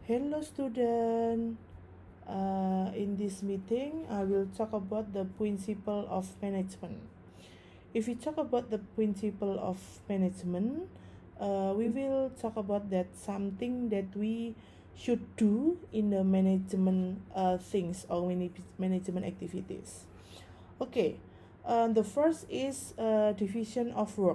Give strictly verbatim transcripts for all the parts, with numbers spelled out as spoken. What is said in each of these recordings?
Hello student. Uh, in this meeting, I will talk about the principle of management. If we talk about the principle of management, uh, we will talk about that something that we should do in the management uh, things or management activities. Okay, uh, the first is uh, division of work.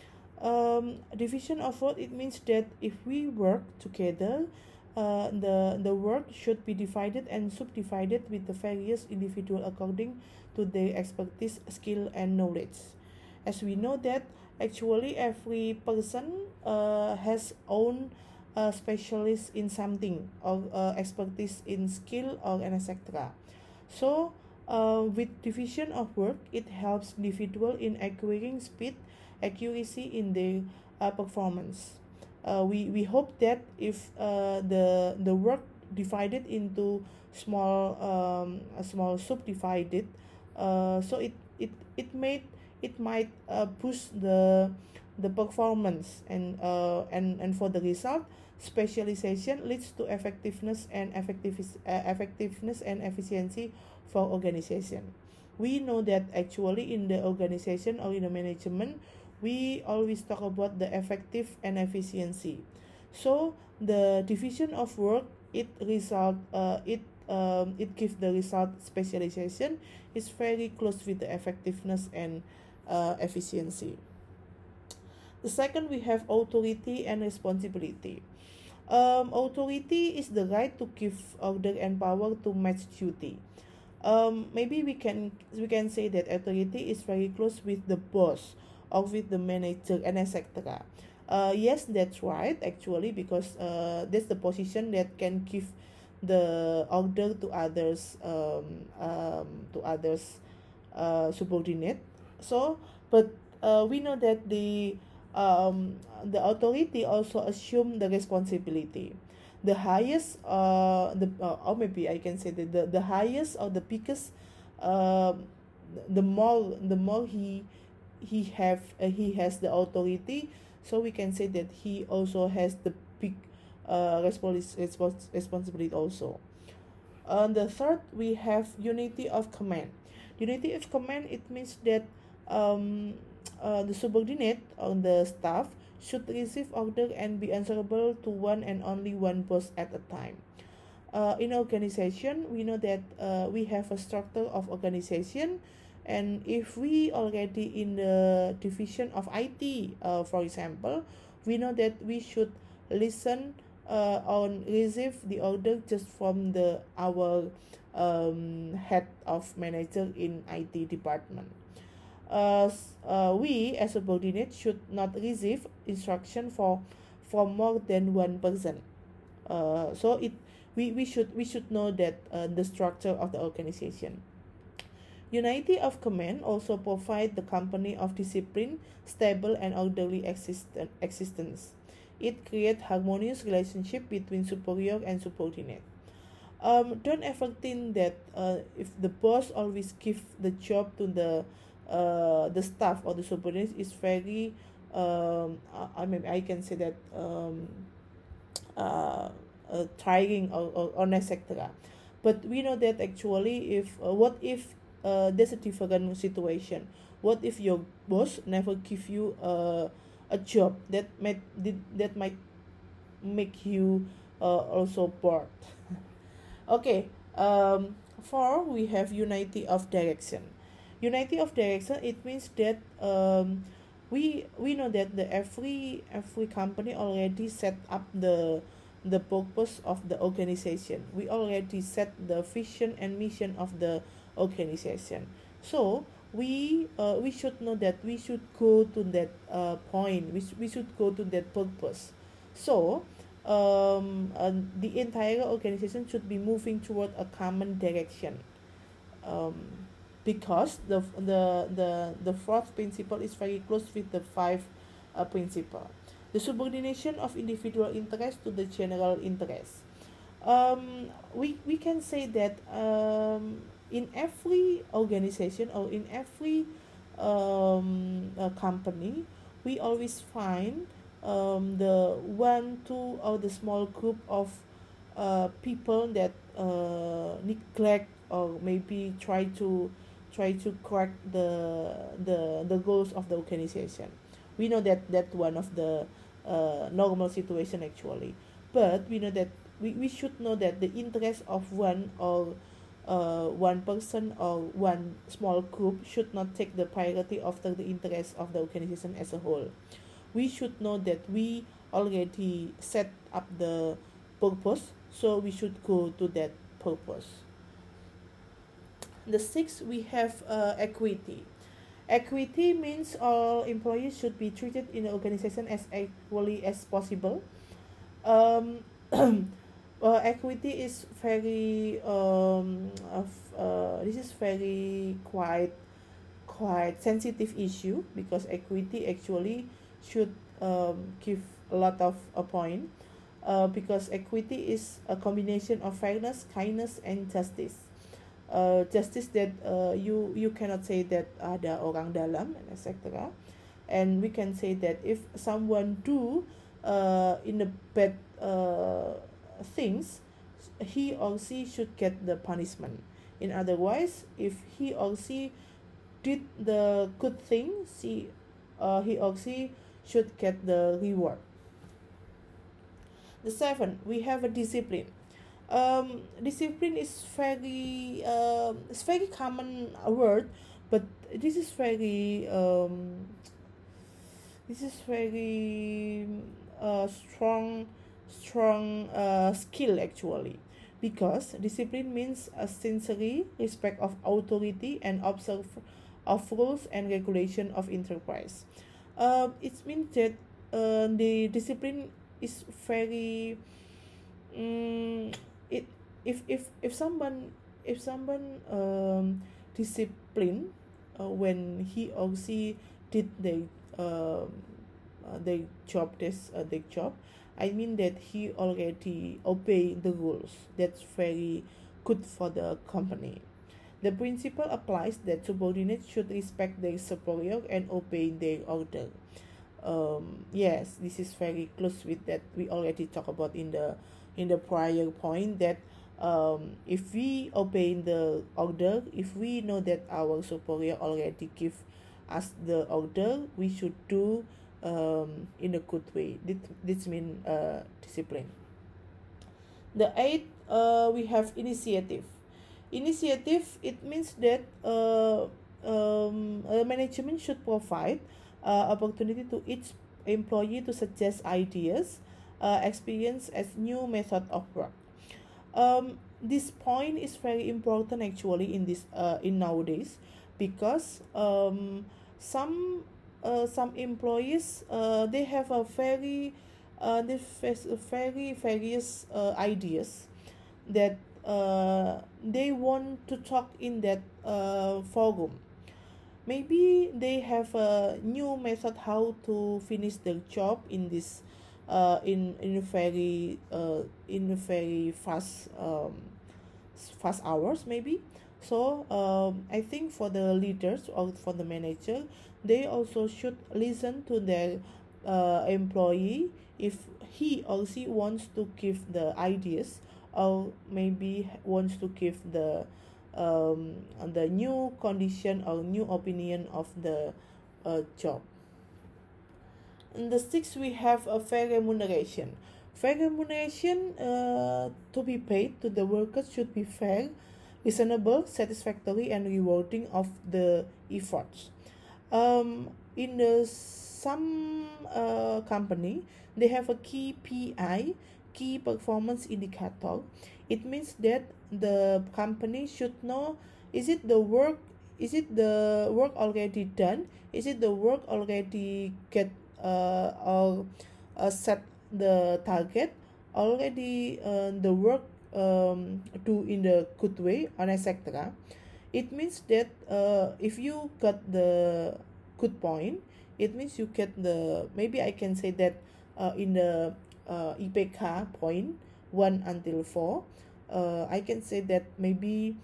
Um, division of work, it means that if we work together, uh, the the work should be divided and subdivided with the various individual according to their expertise, skill, and knowledge. As we know that actually every person uh, has own uh, specialist in something or uh, expertise in skill or and et cetera. So uh, with division of work, it helps individual in acquiring speed, accuracy in their uh, performance. Uh, we, we hope that if uh, the the work divided into small um, a small subdivided, uh, so it it it made it might uh, push the the performance and uh, and and for the result, specialization leads to effectiveness and effective uh, effectiveness and efficiency for organization. We know that actually in the organization or in the management, we always talk about the effective and efficiency. So the division of work, it result uh, it um, it gives the result specialization is very close with the effectiveness and uh, efficiency. The second, we have authority and responsibility. Um, authority is the right to give order and power to match duty. Um, maybe we can we can say that authority is very close with the boss or with the manager and et cetera. Uh, yes, that's right actually, because uh, that's the position that can give the order to others um, um, to others uh, subordinate. So, but uh, we know that the um, the authority also assume the responsibility. The highest uh the uh, or maybe I can say that the, the highest or the biggest um the more the more he he have uh, he has the authority, so we can say that he also has the big uh respons- respons- responsibility also. On the third, we have unity of command. Unity of command, it means that um, uh, the subordinate on the staff should receive order and be answerable to one and only one boss at a time. Uh, in organization, we know that uh, we have a structure of organization, and if we already in the division of I T, uh, for example, we know that we should listen uh, on receive the order just from the our um, head of manager in I T department. Uh, uh, we as a subordinate should not receive instruction for from more than one person. Uh, so it we, we should we should know that uh, the structure of the organization. Unity of command also provide the company of discipline, stable and orderly existen- existence. It creates harmonious relationship between superior and subordinate. Um, don't ever think that uh, if the boss always give the job to the uh, the staff or the subordinates is very um, I mean I can say that um, uh, uh, trying or, or, or et cetera. But we know that actually, if uh, what if uh, there's a different situation? What if your boss never give you a a job that might that might make you uh, also bored? Okay. Um, four, we have unity of direction. Unity of direction, it means that um, we we know that the every every company already set up the the purpose of the organization. We already set the vision and mission of the organization. So we uh, we should know that we should go to that uh, point. We, sh- we should go to that purpose. So um, uh, the entire organization should be moving toward a common direction. Um, because the the the the fourth principle is very close with the five uh, principle. The subordination of individual interest to the general interest. Um, we we can say that um, in every organization or in every um, uh, company, we always find um, the one, two, or the small group of uh, people that uh, neglect or maybe try to try to crack the the the goals of the organization. We know that that one of the uh, normal situation actually, but we know that we, we should know that the interest of one or uh, one person or one small group should not take the priority after the interest of the organization as a whole. We should know that we already set up the purpose, so we should go to that purpose. The sixth, we have uh, equity. Equity means all employees should be treated in the organization as equally as possible. Um, uh, equity is very um, of, uh, this is very quite quite sensitive issue, because equity actually should um, give a lot of a point, uh, because equity is a combination of fairness, kindness, and justice. Uh, justice that uh, you you cannot say that ada orang dalam and et cetera. And we can say that if someone do uh, in the bad uh, things, he or she should get the punishment. In otherwise, if he or she did the good thing, she uh, he or she should get the reward. The seven, we have a discipline. Um, discipline is very uh, it's very common word, but this is very um, this is very uh, strong strong uh, skill actually, because discipline means a sincere respect of authority and observe of rules and regulation of enterprise. Uh, it means that uh, the discipline is very um, it if if if someone if someone um discipline uh, when he or she did the um uh, the job this uh, the job, I mean that he already obey the rules. That's very good for the company. The principle applies that subordinates should respect their superior and obey their order. Um, yes, this is very close with that we already talked about in the in the prior point, that um, if we obey the order, if we know that our superior already give us the order, we should do um, in a good way. This, this means uh, discipline. The eighth, uh, we have initiative. Initiative, it means that uh, um, uh, management should provide uh, opportunity to each employee to suggest ideas, uh, experience as new method of work. Um, this point is very important actually in this uh, in nowadays, because um, some uh, some employees uh, they have a very uh, they face very various uh, ideas that uh, they want to talk in that uh, forum. Maybe they have a new method how to finish their job in this uh, in in very uh, in very fast um, fast hours maybe. So um, I think for the leaders or for the manager, they also should listen to their uh, employee if he or she wants to give the ideas, or maybe wants to give the um, the new condition or new opinion of the uh, job. In the sixth, we have a fair remuneration. Fair remuneration uh, to be paid to the workers should be fair, reasonable, satisfactory, and rewarding of the efforts. Um, in the some uh, company, they have a key P I, key performance indicator. It means that the company should know, is it the work is it the work already done, is it the work already get uh, or uh, set the target already, uh, the work um, do in the good way, and et cetera. It means that uh, if you got the good point, it means you get the, maybe I can say that uh, in the uh, I P K point one until four, uh, I can say that maybe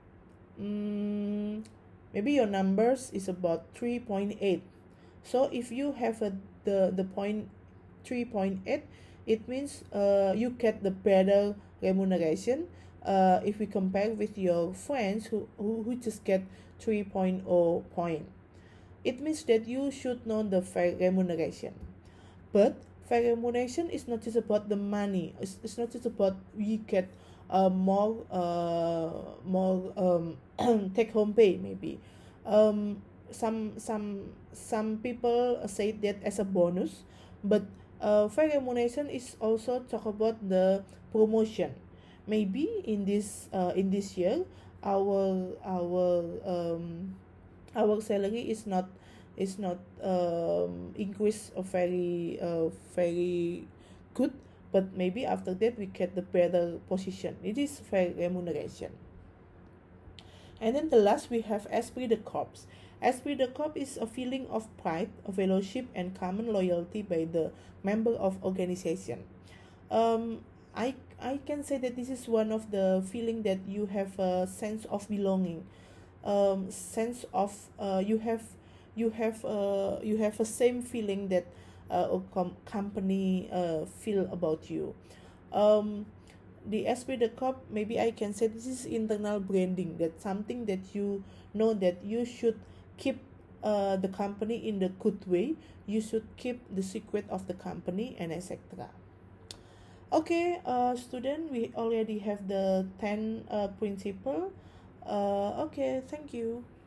um, maybe your numbers is about three point eight. So if you have a, the the point three point eight, it means uh, you get the better remuneration, uh, if we compare with your friends who, who, who just get three point zero point. It means that you should know the fair remuneration. But fair remuneration is not just about the money. It's, it's not just about we get uh, more uh, more um, take home pay maybe. Um, some some some people say that as a bonus, but uh, fair remuneration is also talk about the promotion. Maybe in this uh, in this year, our our um, our salary is not is not um increase of very uh very good, but maybe after that we get the better position. It is fair remuneration. And then the last we have esprit de corps. Esprit de corps is a feeling of pride, of fellowship, and common loyalty by the member of organization. um I I can say that this is one of the feeling that you have a sense of belonging, um sense of uh you have you have uh you have a same feeling that uh, a com- company uh feel about you. um the esprit de corps, maybe I can say this is internal branding, that something that you know that you should keep uh the company in the good way, you should keep the secret of the company, and etc. Okay, uh student, we already have the ten uh principle. Uh okay, thank you.